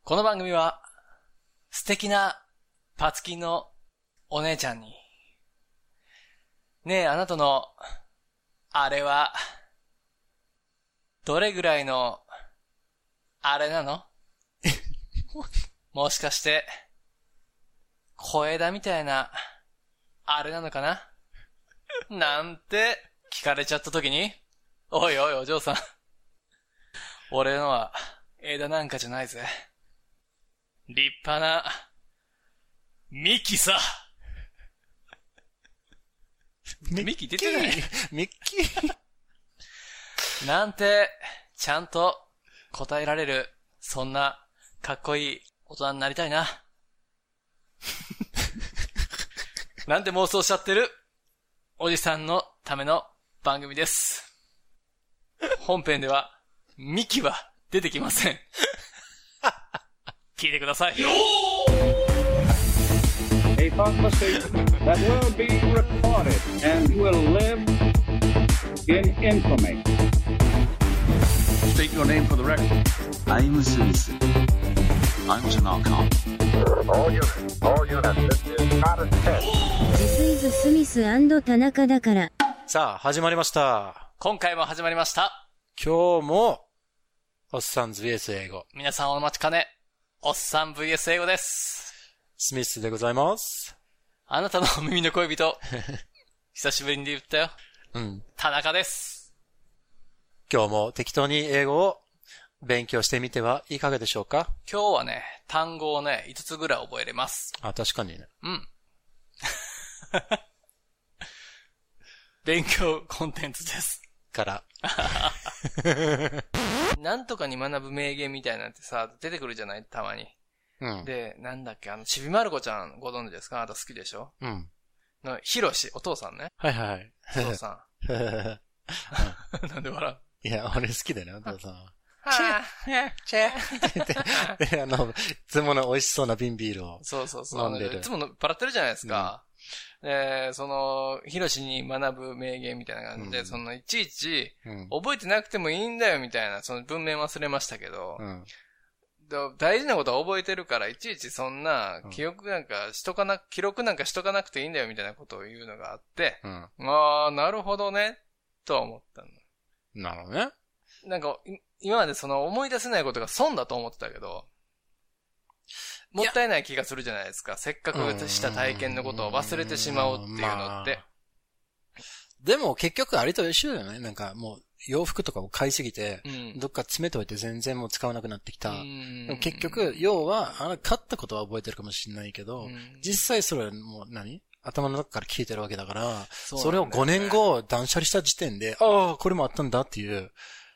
この番組は素敵なパツキンのお姉ちゃんに、ねえあなたのあれはどれぐらいのあれなの？もしかして小枝みたいなあれなのかななんて聞かれちゃった時に、おいおいお嬢さん、俺のは枝なんかじゃないぜ。立派な幹さ。幹出てないミッキーなんてちゃんと答えられる、そんなかっこいい大人になりたいな。なんて妄想しちゃってるおじさんのための番組です。本編ではミキは出てきません。聞いてください。 A conversation that will be recorded and will live in infamy. State your name for the record. I'm Smith. I'm Tanaka. All units, this is not a test. This is スミス&田中だから。 さあ、始まりました。 今回も始まりました。 今日も、おっさんズ VS 英語。 皆さんお待ちかね、おっさん VS 英語です。 スミスでございます。 あなたの耳の恋人、久しぶりに言ったよ。 うん。 田中です。 今日も適当に英語を勉強してみてはいかがでしょうか？ 今日はね、単語をね、5つぐらい覚えれます。 あ、確かにね。 うん。勉強コンテンツです。 から。 なんとかに学ぶ名言みたいなんてさ、出てくるじゃない？たまに。 うん。 で、なんだっけ、ちびまる子ちゃんご存知ですか？あなた好きでしょ？ うん。 の、ひろし、お父さんね。 はいはい。 お父さん。なんで笑う？ いや、俺好きだよね、お父さんは。 チェで、いつもの美味しそうな瓶ビールを。 そうそうそう。 飲んでる。 いつもバラってるじゃないですか。ひろしに学ぶ名言みたいな感じで、いちいち、覚えてなくてもいいんだよみたいな、その文面忘れましたけど、大事なことは覚えてるから、いちいちそんな、記録なんかしとかなくていいんだよみたいなことを言うのがあって、ああ、なるほどね、とは思ったの。 なるほどね。 なんか、今まで思い出せないことが損だと思ってたけど、もったいない気がするじゃないですか。せっかくした体験のことを忘れてしまうっていうのって。 でも結局あれと一緒だよね。なんかもう洋服とかを買いすぎて、どっか詰めといて全然もう使わなくなってきた。でも結局、要は、買ったことは覚えてるかもしれないけど、実際それはもう頭の中から聞いてるわけだから、それを5年後断捨離した時点で、ああ、これもあったんだっていう、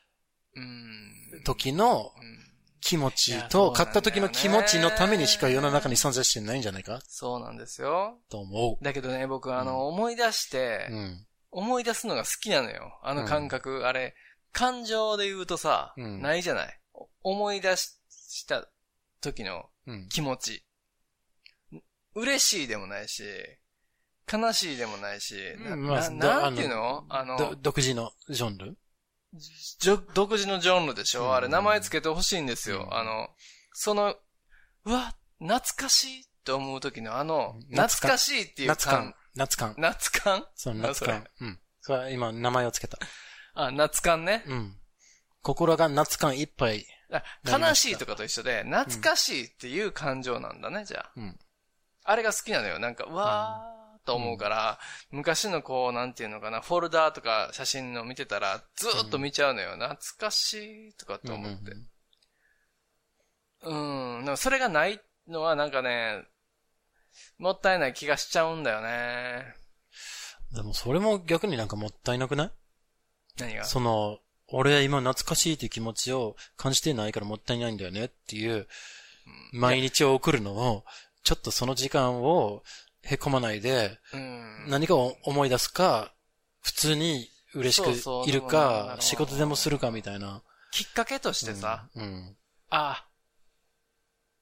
時の、気持ちと、買った時の気持ちのためにしか世の中に存在してないんじゃないか？ そうなんですよ。 と思う。 だけどね、僕思い出して、思い出すのが好きなのよ。感覚、あれ、感情で言うとさ、ないじゃない。思い出した時の気持ち。嬉しいでもないし、悲しいでもないし、なんていうの？ 独自のジャンル？ 独自のジャンルでしょ？あれ、名前つけてほしいんですよ。うわ、懐かしいと思う時の懐かしいっていう感。 夏感。そう、夏感。それは今、名前をつけた。 あ、夏感ね。 心が夏感いっぱい。 悲しいとかと一緒で、懐かしいっていう感情なんだね、じゃあ。あれが好きなのよ。なんか、うわーと思うから、昔のなんていうのかな、フォルダーとか写真の見てたら、ずーっと見ちゃうのよ。懐かしいとかって思って。でもそれがないのはなんかね、もったいない気がしちゃうんだよね。 でもそれも逆になんかもったいなくない？ 何が？ 俺は今懐かしいっていう気持ちを感じてないからもったいないんだよねっていう、毎日を送るのを、ちょっとその時間をへこまないで、何かを思い出すか、普通に嬉しくいるか、仕事でもするかみたいな。 きっかけとしてさ、あ、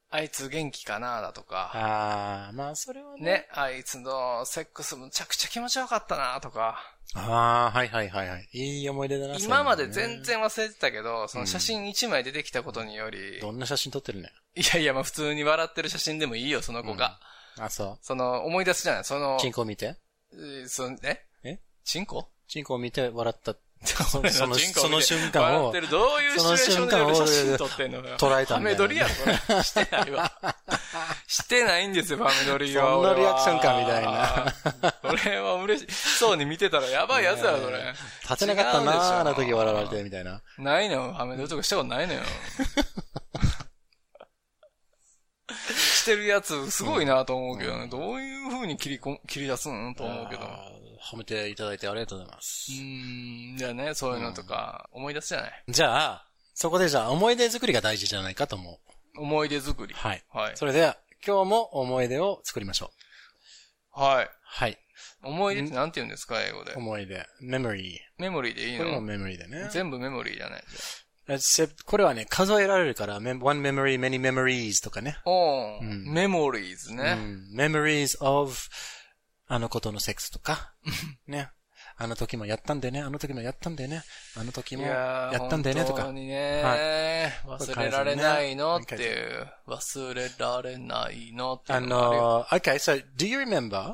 あいつ元気かなだとか。 ああ、まあそれはね。 ね、あいつのセックスむちゃくちゃ気持ちよかったなとか。 ああ、はいはいはいはい。いい思い出だな。 今まで全然忘れてたけど、その写真1枚出てきたことにより。 どんな写真撮ってるね。 いやいや、まあ普通に笑ってる写真でもいいよ、その子が。 あ、そう。 その、思い出すじゃない、その。 チンコを見て。 チンコ？ チンコを見て笑った。その瞬間を。 どういうシチュエーションで俺写真撮ってんのよ。 捉えたんだよ。 ハメ撮りやろ、これ。してないわ。してないんですよ、ハメ撮りは。 そんなリアクションか、みたいな。 俺は嬉しそうに見てたらやばいやつやろ、それ。 立てなかったなー、あの時笑われて、みたいな。 ないのよ、ハメ撮りとかしたことないのよ。してるやつ、すごいなと思うけどね。どういう風に切り出すんと思うけど。 褒めていただいてありがとうございます。 じゃあね、そういうのとか、思い出すじゃない。 じゃあ、そこでじゃあ、思い出作りが大事じゃないかと思う。 思い出作り。 はい。 はい。 それでは、今日も思い出を作りましょう。はい。 はい。 思い出ってなんて言うんですか、英語で。 思い出。メモリー。 メモリーでいいの？ これもメモリーでね。 全部メモリーじゃない。 これはね、数えられるから、one memory, many memories とかね。 メモリーズね。 memories of あのことのセックスとか。ね。あの時もやったんでね、あの時もやったんでね、あの時もやったんでねとか。 本当にね、はい、忘れられないのっていう。忘れられないのっていうの。 Okay, so do you remember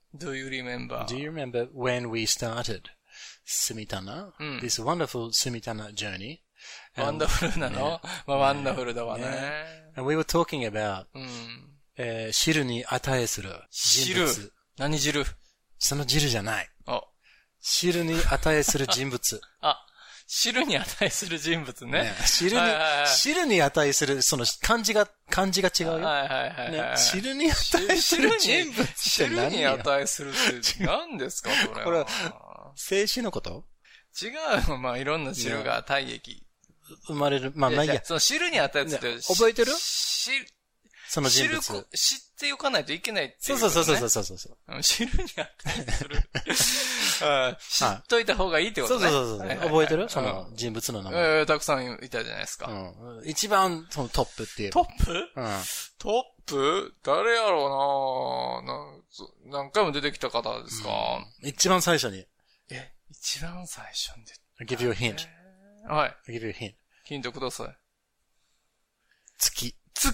when we started Sumitana, this wonderful Sumitana journey? ワンダフルなの？まあワンダフルだわね。 And we were talking about, 汁に値する人物。 汁？何汁？ その汁じゃない。汁に値する人物。 あ、汁に値する人物ね。 汁に値する、その漢字が違うよ。汁に値する人物って何？ 汁に値するって何ですか、これ。 これは、静止のこと？ 違う。まあ、いろんな汁が体液。 生まれる。まあ、ないや。 その汁に値するって。 覚えてる？その人物。 知っておかないといけないっていう、ね。 そう。 汁に値する。知っといた方がいいってことね。 そう。覚えてる？その人物の名前。 たくさんいたじゃないですか。 一番そのトップっていう。 トップ？トップ？誰やろうな何回も出てきた方ですか？ 一番最初に。 一番最初に I'll give you a hint. はい。 I'll give you a hint. ヒントください。 月。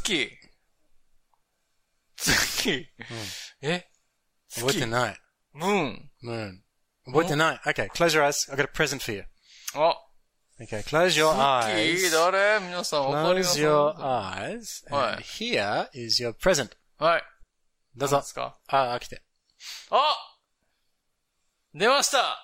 覚えてない。 ムーン。 覚えてない。Okay, close your eyes. I've got a present for you. Okay, close your eyes. 誰？皆さんわかります？ Close your eyes. And here is your present. はい。 どうぞ。 来て。出ました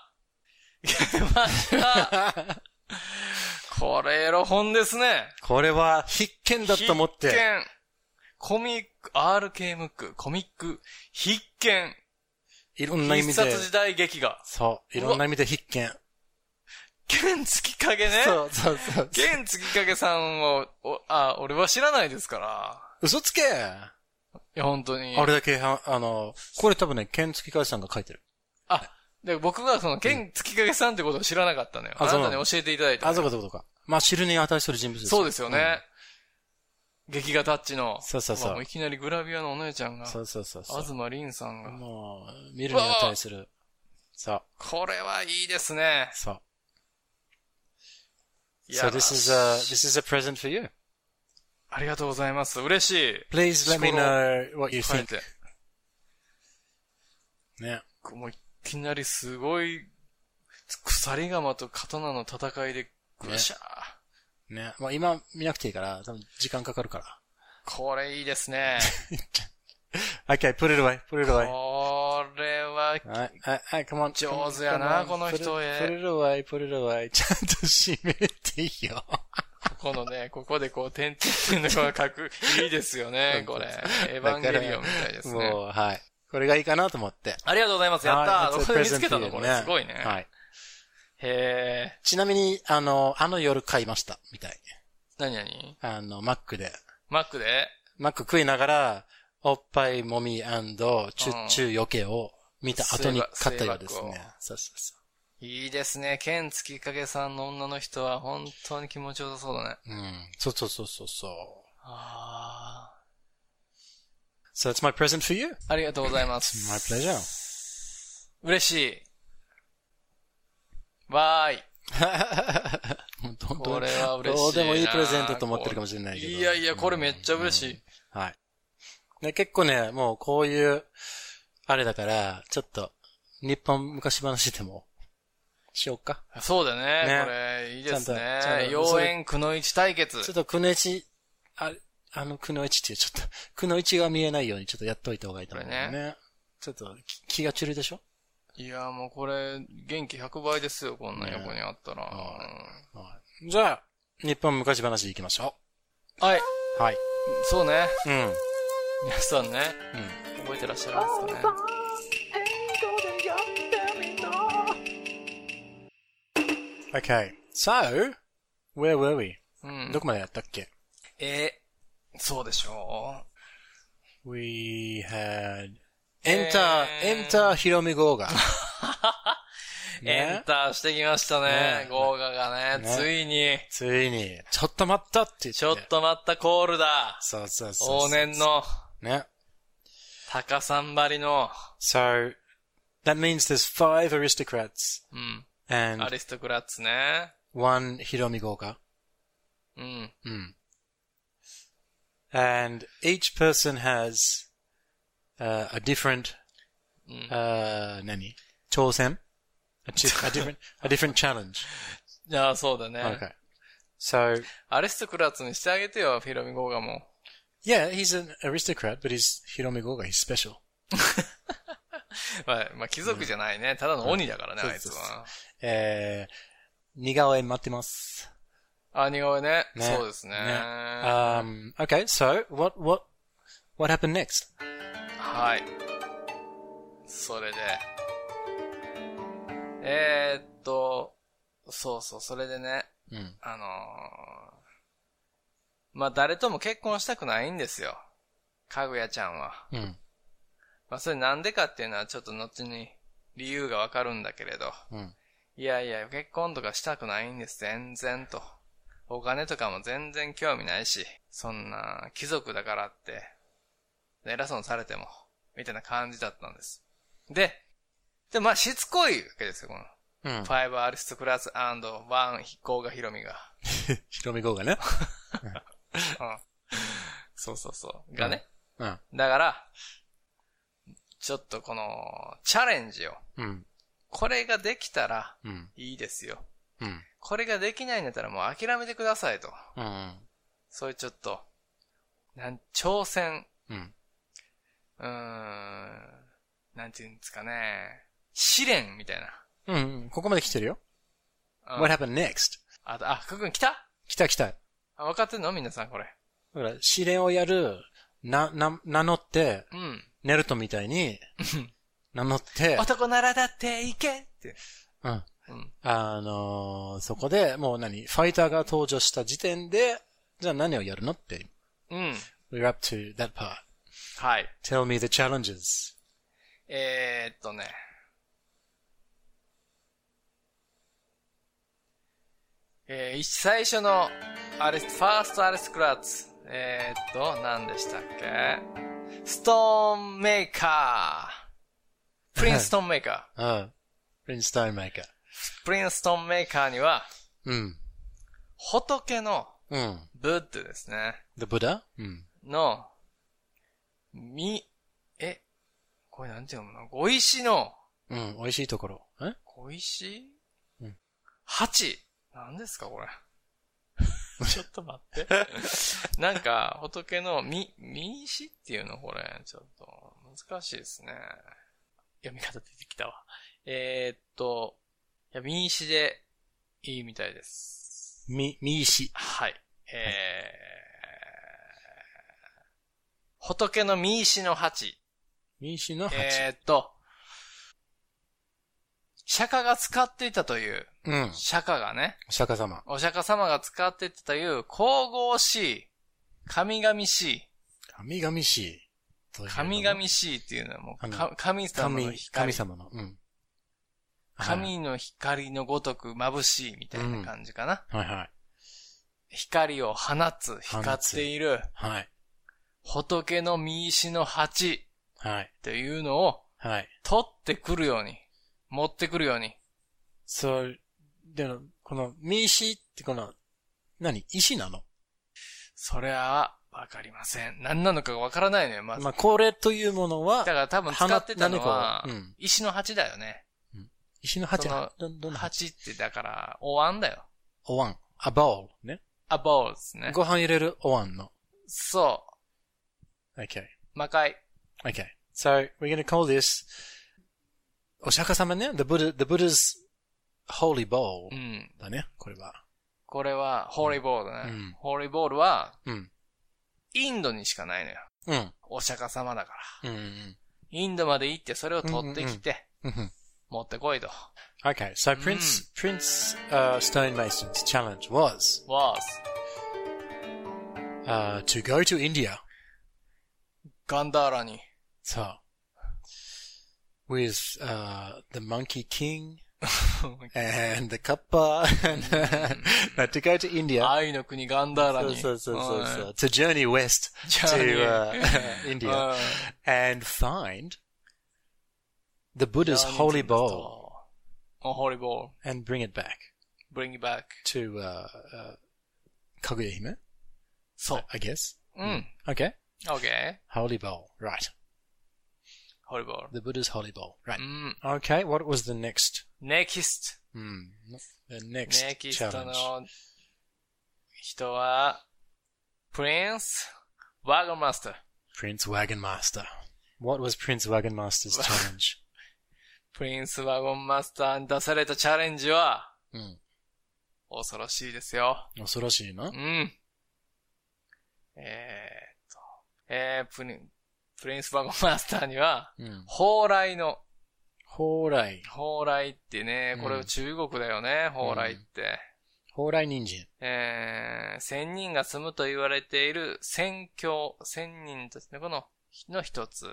これエロ本ですね。 これは必見だと思って。 必見。コミック、RK ムック、コミック、必見。 いろんな意味で。 必殺時代劇画。 そう。いろんな意味で必見。 剣月影ね。 そう。 剣月影さんを、俺は知らないですから。 嘘つけ！いや、本当に。 あれだけ、これ多分ね、剣月影さんが書いてる。 で、僕がその、剣月影さんってことを知らなかったのよ。あなたに教えていただいた。 そうか。まあ、汁に値する人物です。 そうですよね。劇画タッチの。 そう。 もういきなりグラビアのお姉ちゃんが。 そう。 東凛さんが。 もう、見るに値する。そう。 これはいいですね。 そう。So this is a present for you. ありがとうございます。嬉しい。 Please let me know what you think. ね。 もういきなりすごい、鎖鎌と刀の戦いで、ぐしゃー。ね。まあ今見なくていいから、多分時間かかるから。 これいいですね。 Okay, put it away. これは、 はい、come on. 上手やな、この人へ。 put it away. ちゃんと閉めていいよ。 ここでこう、点々のこの書く、いいですよね、これ。エヴァンゲリオンみたいですね。 もう、はい。これがいいかなと思って。 ありがとうございます。やったー。これ見つけたのこれ。すごいね。 はい。 へー。 ちなみに、あの夜買いました、みたい。 何マックで。 マック食いながら、おっぱいもみ&チュッチュ余計を見た後に買ったようですね。そう。 いいですね。剣月影さんの女の人は本当に気持ちよさそうだね。 そう。 So it's my present for you. ありがとうございます。 My pleasure. 嬉しい。わーい。これは嬉しいな。 どうでもいいプレゼントと思ってるかもしれないけど。 いやいや、これめっちゃ嬉しい。 はい。で、結構ね、もうこういう、あれだから、ちょっと、日本昔話でも、しようか。 そうだね。これ、いいですね。妖艶くのいち対決。 ちょっとくのいち、くのいちってちょっと、くのいちが見えないようにちょっとやっといた方がいいと思うね。ちょっと、気が散るでしょ？ いや、もうこれ、元気100倍ですよ、こんな横にあったら。 じゃあ、日本昔話行きましょう。はい。 はい。 そうね。 うん。 皆さんね、覚えてらっしゃるんですかね。 Okay, so, where were we? どこまでやったっけ？ そうでしょう。We had, enter ヒロミゴーガ。 エンターしてきましたね。ゴーガがね、ついに。 ちょっと待ったって言って。 ちょっと待ったコールだ。 そう。 往年の。 ね。 高三張りの。 So, that means there's 5 aristocrats. And アリストクラッツね。 1 Hiromi Goga. And each person has a different 挑戦 a different challenge. いや、そうだね。 Okay. So アリストクラッツにしてあげてよ、ヒロミゴーガも。 Yeah, he's an aristocrat, but he's Hiromi Goga. He's special. まあ、貴族じゃないね。ただの鬼だからね、あいつは。 似顔絵待ってます。 似顔絵ね。そうですね。 Okay, so, what happened next? はい。それで。それでね。まあ、誰とも結婚したくないんですよ。かぐやちゃんは。まあ、それなんでかっていうのはちょっと後に理由がわかるんだけれど。いやいや、結婚とかしたくないんです、全然と。お金とかも全然興味ないし、そんな貴族だからって、偉そうにされても、みたいな感じだったんです。で、まあ、しつこいわけですよ、この。5アリストクラス &1 ゴーガヒロミが。 ヒロミゴーガね。 そう。がね。だから、ちょっとこの、チャレンジを。これができたら、いいですよ。これができないんだったらもう諦めてくださいと。そういうちょっと、挑戦。なんていうんですかね。試練みたいな。ここまで来てるよ。What happened next? くぐん来た？ 来た。 分かってんの皆さんこれ。 だから、試練をやる、名乗って、ネルトみたいに、名乗って、 男ならだっていけって。 そこで、もうファイターが登場した時点で、じゃあ何をやるのって。We're up to that part. はい。 Tell me the challenges. 最初のファーストアリストクラッツ。何でしたっけ？ストーンメーカー。プリンストーンメーカー。 プリンストーンメーカー。 プリンストーンメーカーには、仏の、ブッドですね。 The Buddha? の、これなんて読むの？碁石の、 美味しいところ。 碁石？8。何ですかこれ。ちょっと待って。なんか、仏の実石っていうのこれ。ちょっと、難しいですね。読み方出てきたわ。実石でいいみたいです。 実石。 はい。仏の実石の8。 実石の8。 釈迦が使っていたという、釈迦がね、 お釈迦様。 お釈迦様が使っていたという、神々しい、神々しい。 神々しい。 神々しいっていうのはもう、神様の光。 神様の、 神の光のごとく眩しいみたいな感じかな。 はいはい。 光を放つ、光っている。 はい。 仏の御石の鉢。 はい。 っていうのを、 はい。 取ってくるように、持ってくるように。 そう、でも、この、御石ってこの、石なの？ それは、わかりません。何なのかわからないのよ、まず。 まあ、これというものは、 だから多分使ってたのは、石の鉢だよね。 石の鉢どんな鉢ってだから、お椀だよ。 お椀。a bowl ね。 a bowl ですね。 ご飯入れるお椀の。 そう。 Okay. 魔界。 Okay. So, we're going to call this お釈迦様ね。The Buddha's Holy Bowl だね。これは。 これは、Holy Bowl だね。Holy Bowl は、インドにしかないのよ。お釈迦様だから。インドまで行ってそれを取ってきて、持ってこいと。 Okay, so Prince Stonemason's challenge was to go to India. ガンダーラに。 So, with the Monkey King and the Kappa, but to go to India. 愛の国ガンダーラに。 そう。To journey west to India and find the Buddha's holy bowl. Holy bowl. And bring it back. Bring it back. To, Kaguya-hime? So. I guess. Okay. Okay. Holy bowl. Right. Holy bowl. The Buddha's holy bowl. Right. Okay. What was the next? Next. The next challenge. の人は、Prince Wagon Master. Prince Wagon Master. What was Prince Wagon Master's challenge? プリンスワゴンマスターに出されたチャレンジは、恐ろしいですよ。 恐ろしいの？ プリンスワゴンマスターには、蓬莱の。 蓬莱。 蓬莱ってね、これ中国だよね、蓬莱って。 蓬莱人参。 仙人が住むと言われている仙境、仙人ですね、この一つ。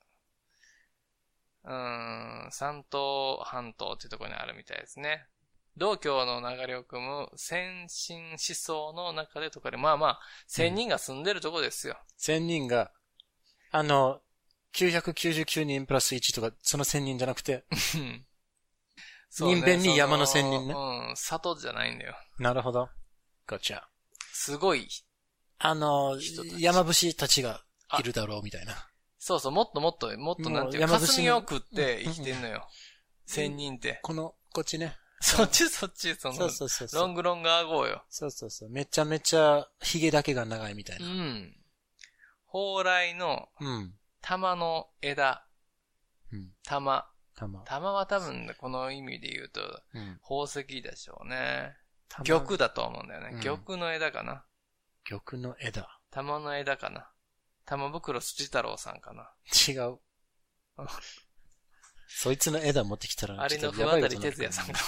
山東半島っていうところにあるみたいですね。道教の流れを組む先進思想の中でとかで、仙人が住んでるとこですよ。 仙人が、999人プラス1とか、その仙人じゃなくて、人弁に山の仙人ね。 里じゃないんだよ。 なるほど。Gotcha。 すごい。 山伏たちがいるだろうみたいな。 そう、もっとなんていうか、霞を食って生きてんのよ。仙人って。こっちね。そっち、そう。ロングアゴーよ。 そう。めちゃめちゃ、髭だけが長いみたいな。 蓬莱の、玉の枝。玉は多分、この意味で言うと、宝石でしょうね。玉だと思うんだよね。玉の枝かな。 玉の枝。 玉の枝かな。玉袋筋太郎さんかな。 違う。そいつの枝持ってきたら、 あれの不渡り哲也さんか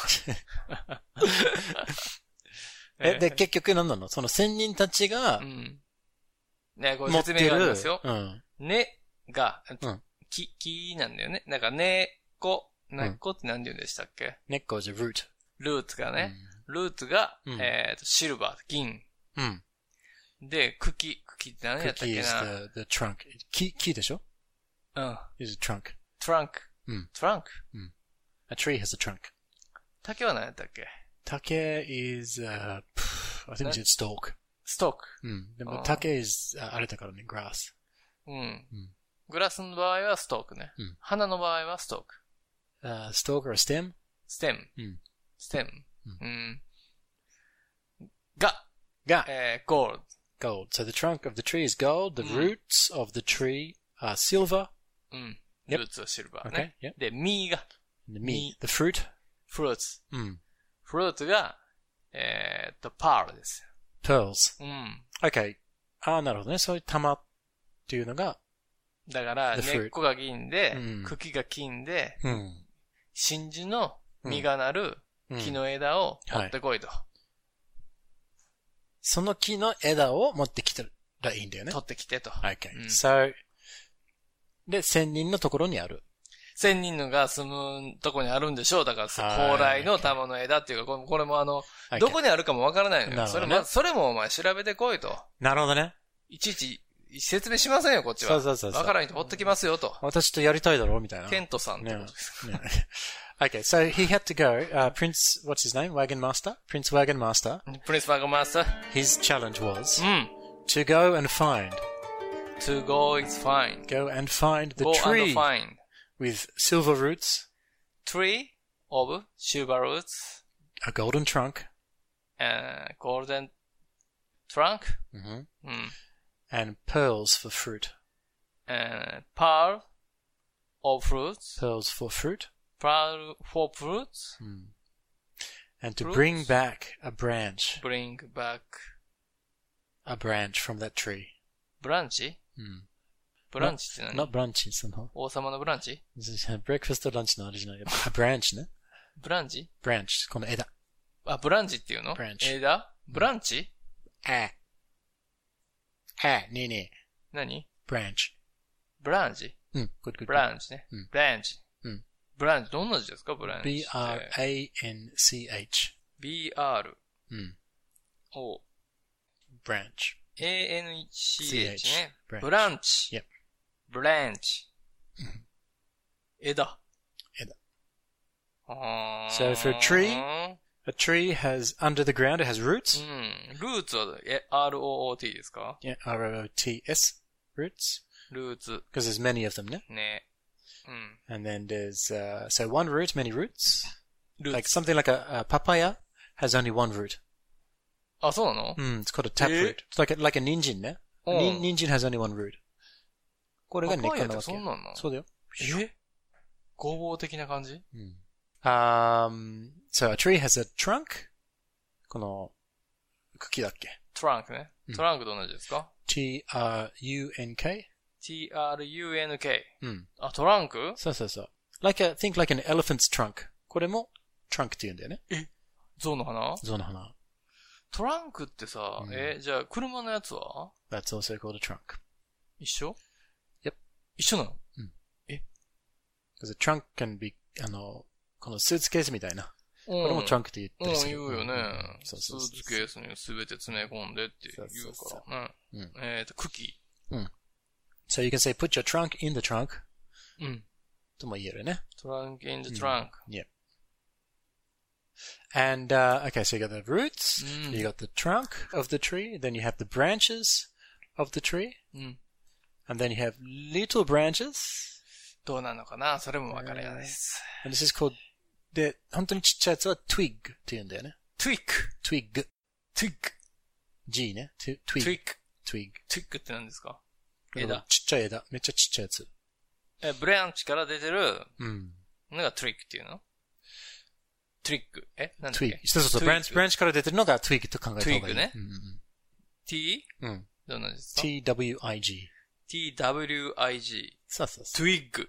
も。で、結局何なの？その仙人たちが、 ね、これ説明がありますよ。根が、木なんだよね。なんか根っこって何て言うんでしたっけ？ 根っこじゃ root。 ルーツがね。ルーツが、シルバー、銀。で、茎って何やったっけな？ Cookie is the trunk. 木でしょ？is a trunk. Trunk. A tree has a trunk. 竹は何やったっけ？ 竹 is, I think it's stalk. Stalk. でも竹 is, あれだからね、grass. グラスの場合はストークね。花の場合はストーク。 stalk or stem? stem. が、gold. Gold. So the trunk of the tree is gold. The roots of the tree are silver. ルーツはシルバーね。で、実が。 the fruit. fruits. フルーツが、pearl です。 pearls. Okay. なるほどね。そういう玉っていうのが、 だから、根っこが銀で、茎が金で、真珠の実がなる木の枝を持ってこいと。 その木の枝を持ってきたらいいんだよね。 取ってきてと。 Okay. So, で、仙人のところにある。 仙人のが住むとこにあるんでしょう。だから、蓬莱の玉の枝っていうか、これもどこにあるかもわからないのよ。それもお前調べてこいと。 なるほどね。 いちいち説明しませんよ、こっちは。 そう。 わからん人ほっときますよ、と。 私とやりたいだろうみたいな。 ケントさんってことですか。 Okay, so he had to go, Prince, what's his name? Wagon Master? Prince Wagon Master. Prince Wagon Master? His challenge was to go and find. To go is fine. Go and find the go tree and find. with silver roots. Tree of silver roots. A golden trunk. Golden trunk. And pearls for fruit. Pearl of fruits. Pearls for fruit. Pearl for fruits. And to bring back a branch. Bring back a branch from that tree. ブランチブランチって何 Not branch, その。 王様のブランチ breakfast lunch のあれじゃないけど。a branch ね。 ブランチ branch, この枝。 あ、ブランチっていうの branch 枝ブランチねえねえ。 何 branch ブランチ good. ブランチね。ブランチ。ブランチどんな字ですかブランチ。 B-R-A-N-C-H B-R O branch A-N-C-H ね。ブランチ。 Yep. ブランチ。枝。 So for a tree has, under the ground, it has roots. ルーツはR-O-O-T ですか Yeah, R-O-O-T-S. Roots. ルーツ。 Because there's many of them, ね。 ね。 And then there's, so one root, many roots. Like something like a papaya has only one root. あ、そうなの It's called a taproot. It's like a ninjin ね。Ninjin has only one root. これが根っこなわけ。 そんなんなのそうだよ。 合法的な感じ So a tree has a trunk. この茎だっけ trunk ね。トランクどんな字ですか T-R-U-N-K? T-R-U-N-K。あ、トランクそう。think like an elephant's trunk. これも trunk って言うんだよね。 象の花象の花。 トランクってさ、じゃあ車のやつは That's also called a trunk. 一緒 Yep. 一緒なの Because a trunk can be, このスーツケースみたいな。これもトランクって言ったりする。 言うよね。 スーツケースにすべて詰め込んでって言うからね。茎。 So you can say put your trunk in the trunk. とも言えるね。 Trunk in the trunk. Yep. And, okay, so you got the roots, you got the trunk of the tree, then you have the branches of the tree, and then you have little branches. どうなのかなそれもわからないです。 And this is called, で、本当にちっちゃいやつは twig って言うんだよね。 twig. G ね。twig. twig って何ですか枝。 ちっちゃい枝。めっちゃちっちゃいやつ。 ブランチから出てるのが twig っていうのトリック。なんだっけそう。ブランチから出てるのが twig と考えた方がいい。 twig ね。t? どんなですか twig. twig. そう。 twig.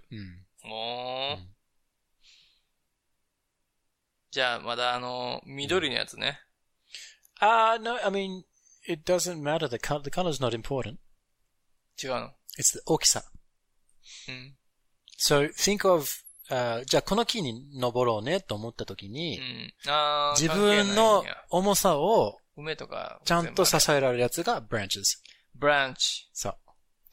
じゃあ、まだ緑のやつね。 No, I mean, it doesn't matter. The color's not important. 違うの It's the 大きさ。So, think of, じゃあこの木に登ろうねと思ったときに、自分の重さを梅とかちゃんと支えられるやつが branches。 branch。 そう。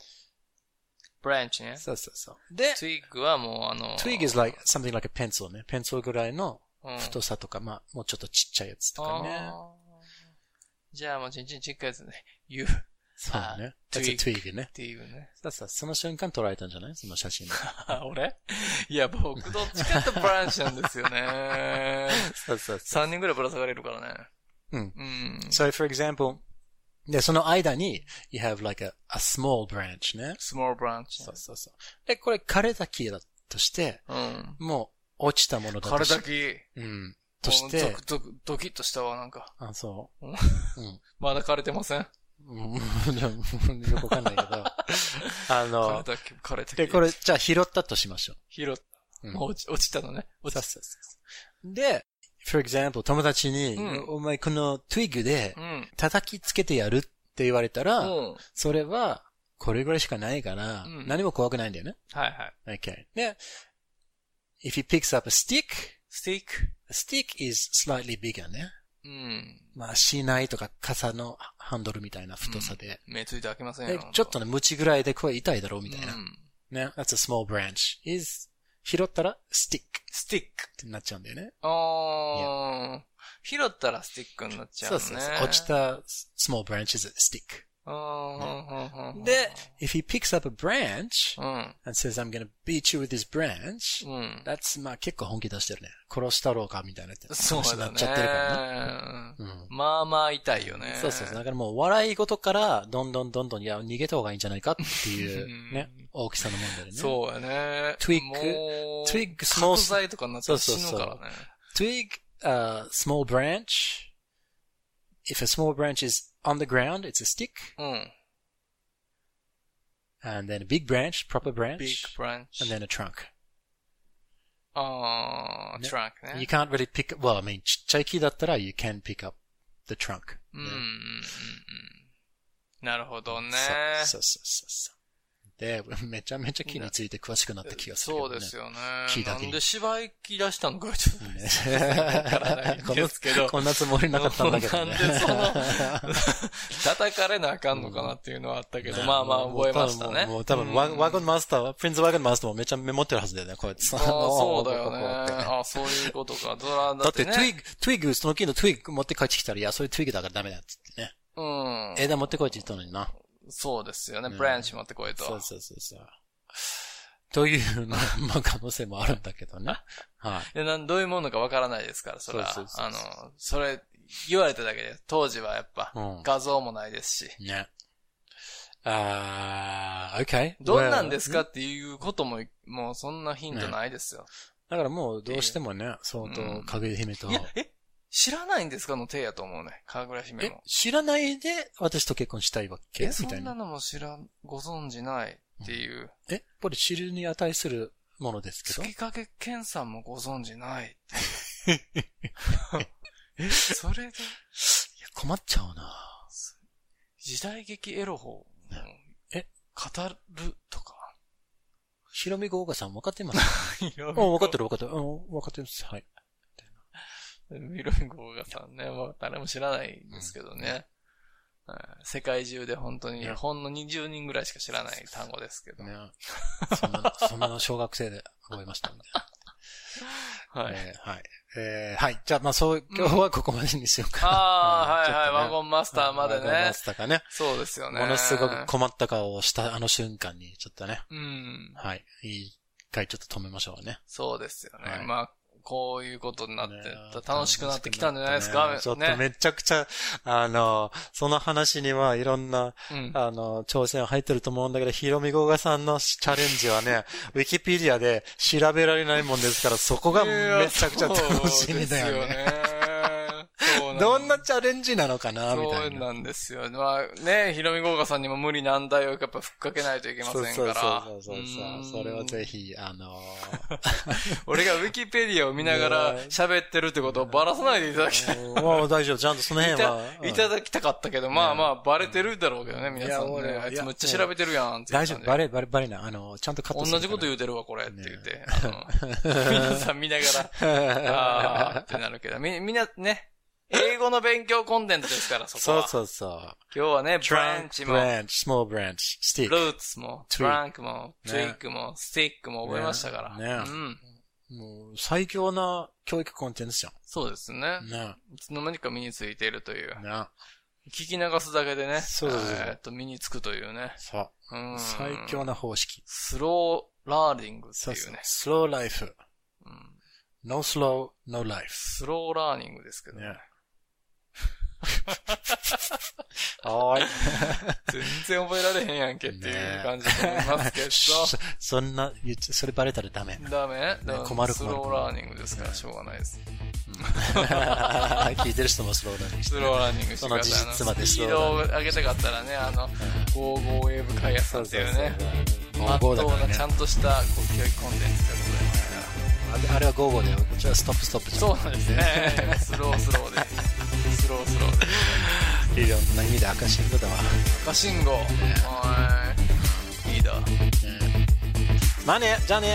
branch ね。 そう。で、 twig はもう twig is like something like a pencil ね。ペンシルぐらいの太さとか、まあ、もうちょっとちっちゃいやつとかね。 じゃあもうちっちゃいやつね。 そうね。That's a twig ね。 っていうね。 その瞬間捉えたんじゃないその写真で。 俺いや、僕どっちかってブランチなんですよね。 そう。 3人ぐらいぶら下がれるからね。 So, for example, で、その間に、you have like a small branch ね。 small branch。 そう。で、これ枯れた木だとして、もう落ちたものだとして。 枯れた木。 として。 ドキッとしたわ、なんか。 あ、そう。 まだ枯れてませんよくわかんないけど。 枯れた木。 で、これ、じゃあ拾ったとしましょう。 拾った。落ちたのね。 そう。で、for example, 友達に、お前この twig で叩きつけてやるって言われたら、それはこれぐらいしかないから、何も怖くないんだよね。 はい。 Okay. で、if he picks up a stick, stick is slightly bigger ね。 まあ、しないとか、傘のハンドルみたいな太さで。 目ついて開きませんよ。 ちょっとね、ムチぐらいでこれ痛いだろうみたいな。ね。That's a small branch. 拾ったら、stick ってなっちゃうんだよね。 拾ったらスティックになっちゃうね。 そう。落ちた small branch is a stick. で、if he picks up a branch and says, I'm gonna beat you with this branch, that's まあ結構本気出してるね。殺したろうかみたいな話になっちゃってるからね。 まあまあ痛いよね。 そう。だからもう笑い事からどんどんいや逃げた方がいいんじゃないかっていうね、大きさの問題でね。 そうやね。 twig, small 角材とかになったら死ぬからね。 twig, small branch. If a small branch is on the ground, it's a stick. And then a big branch, proper branch. Big branch. And then a trunk. Trunk ね。 You can't really pick up, well, I mean, ちっちゃい木だったら you can pick up the trunk. なるほどね。 そう。で、めちゃめちゃ木について詳しくなった気がする、ね。 そうですよね。 木だけに。 なんで芝居き出したのかちょっとね。わからないんですけど。 こんなつもりなかったんだけどね。 なんで叩かれなあかんのかなっていうのはあったけど、まあまあ覚えましたね。 もう多分、ワゴンマスター、プリンスワゴンマスターもめちゃメモってるはずだよね、こうやって。 そうだよね。そういうことか。 だって、トゥイグ、その木のトゥイグ持って帰ってきたら、いや、そういうトゥイグだからダメだっつってね。枝持ってこいって言ったのにな。 そうですよね。ブランチ持ってこいと。 そう。というの、まあ可能性もあるんだけどね。はい。 どういうものかわからないですから、それは。それ、言われただけで、当時はやっぱ、画像もないですし。 ね。okay. どんなんですかっていうことも、もうそんなヒントないですよ。 だからもうどうしてもね、相当、かぐや姫と。 知らないんですかの手やと思うね。かぐや姫も。 知らないで私と結婚したいわけみたいな。 そんなのもご存知ないっていう。 これ知るに値するものですけど。 月影健さんもご存知ないって。それで。いや、 困っちゃうな。 時代劇エロ法。語るとか。 ひろみごうがさん分かってます分かってる。分かってます。はい。 ヒロミゴーガさんね、もう誰も知らないんですけどね。世界中で本当に、ほんの20人ぐらいしか知らない単語ですけど。 そんなの小学生で覚えましたんで。 はい。 はい。じゃあ、まあ今日はここまでにしようかな。 ワゴンマスターまでね。ワゴンマスターかね。 そうですよね。 ものすごく困った顔をしたあの瞬間に、ちょっとね。はい。一回ちょっと止めましょうね。 そうですよね。まあ、こういうことになって楽しくなってきたんじゃないですか。 ちょっとめちゃくちゃ、その話にはいろんな、挑戦入ってると思うんだけど、ひろみごがさんのチャレンジはね、ウィキペディアで調べられないもんですから、そこがめちゃくちゃ楽しみだよね。どんなチャレンジなのかなみたいな。 そうなんですよ。まあね、ひろみごうがさんにも無理難題をやっぱふっかけないといけませんから。 そう。それをぜひ、 俺がウィキペディアを見ながら喋ってるってことをバラさないでいただきたい。 もう大丈夫。ちゃんとその辺は。 いただきたかったけど、まあバレてるだろうけどね、皆さんね。あいつめっちゃ調べてるやんって。 大丈夫。バレない。ちゃんとカットする。 同じこと言うてるわ、これって言って。皆さん見ながら、ってなるけど、みんなね、英語の勉強コンテンツですから、そこは。 そう。 今日はね、ブランチも、 small branch, stick. ルーツも、トランクも、トゥイックも、スティックも覚えましたから。 もう、最強な教育コンテンツじゃん。 そうですね。いつの間にか身についているという。聞き流すだけでね、身につくというね。 そう。最強な方式。 スローラーニングっていうね。 スローライフ。No slow, no life. スローラーニングですけどね。 はい。 全然覚えられへんやんけっていう感じだと思いますけど。 それバレたらダメ。 ダメ？ 困る。 スローラーニングですからしょうがないです。 聞いてる人もスローラーニングして。 スローラーニングしてください。 その事実までスピードを上げたかったらね、55ウェーブ開発さんっていうね、まっとうなちゃんとした教育コンテンツでございますから。 あれは55で、こっちはストップじゃん。 そうなんですね。スローで。スローで。いろんな意味で赤信号だわ。 赤信号。いいだ。 まあね、じゃあね。 はい。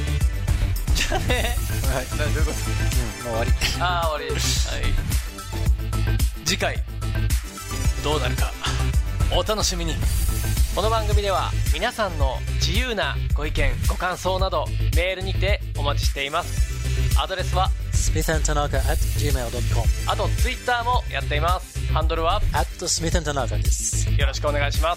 どういうこと？ もう終わり。 終わり。はい。 次回どうなるかお楽しみに。この番組では皆さんの自由なご意見ご感想などメールにてお待ちしています。アドレスは smithandtanaka@gmail.com。 あとツイッターもやっています。ハンドルは @smithandtanaka です。 よろしくお願いします。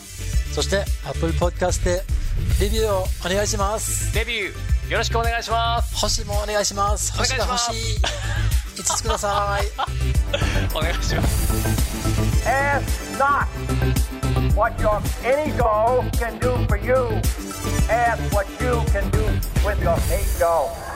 そして Apple Podcast でレビューをお願いします。 レビューよろしくお願いします。 星もお願いします。星が欲しい。5つください。 お願いします。 Ask not what your any doll can do for you. Ask what you can do with your ego.